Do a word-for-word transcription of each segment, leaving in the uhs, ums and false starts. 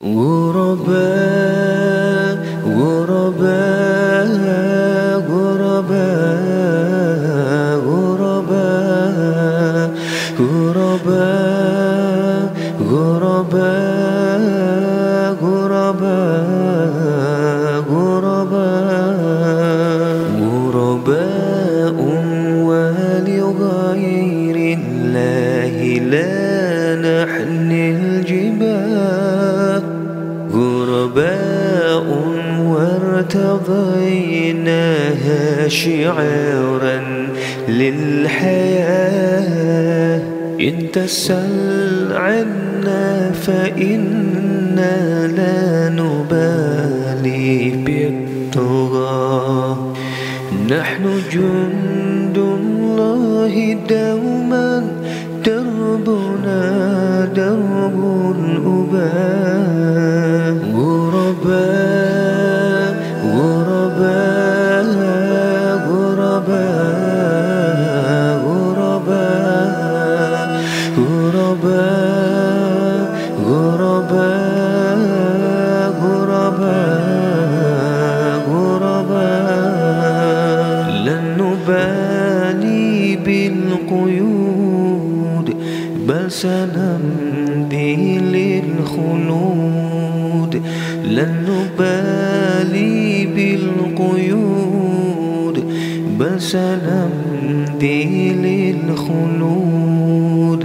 غرباء غرباء غرباء غرباء غرباء غرباء غرباء غرباء غرباء ولغير الله لا نحمل الجبال غرباء وارتضيناها شعارا للحياة إن تسل عنا فإنا لا نبالي بالطغى نحن جند الله دوما دربنا درب الأباء غرباء غرباء غرباء غرباء غرباء غرباء غرباء غرباء لن نبالي بالقيود بل سنمضي للخلود لن نبالي بالقيود بل سنمضي للخلود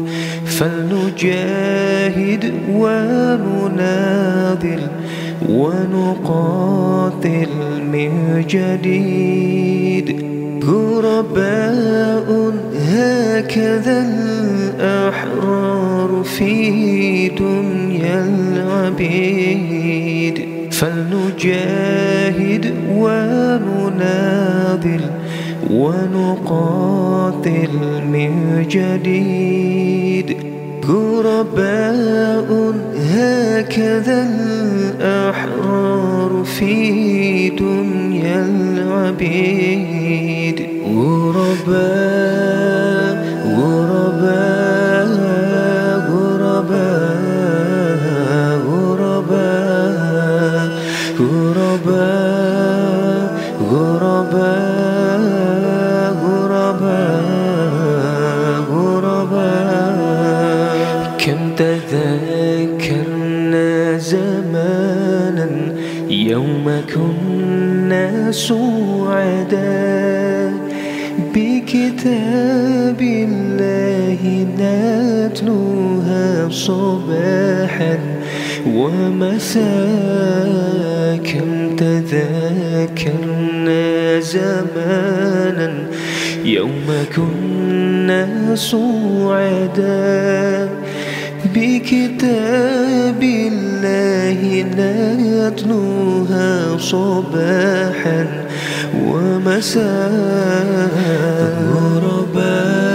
فلنجاهد ونناضل ونقاتل من جديد غرباء هكذا الأحرار في دنيا العبيد فلنجاهد ونناضل ونقاتل من جديد غرباء هكذا الأحرار في دنيا العبيد غرباء غرباء غرباء غرباء غرباء غرباء غرباء غرباء كم تذكرنا زمانا يوم كنا سعداء بكتاب الله نتلوها صباحا ومساء كم تذكرنا زمانا يوم كنا سعداء بكتاب الله نتلوها صباحا ومساء غرباء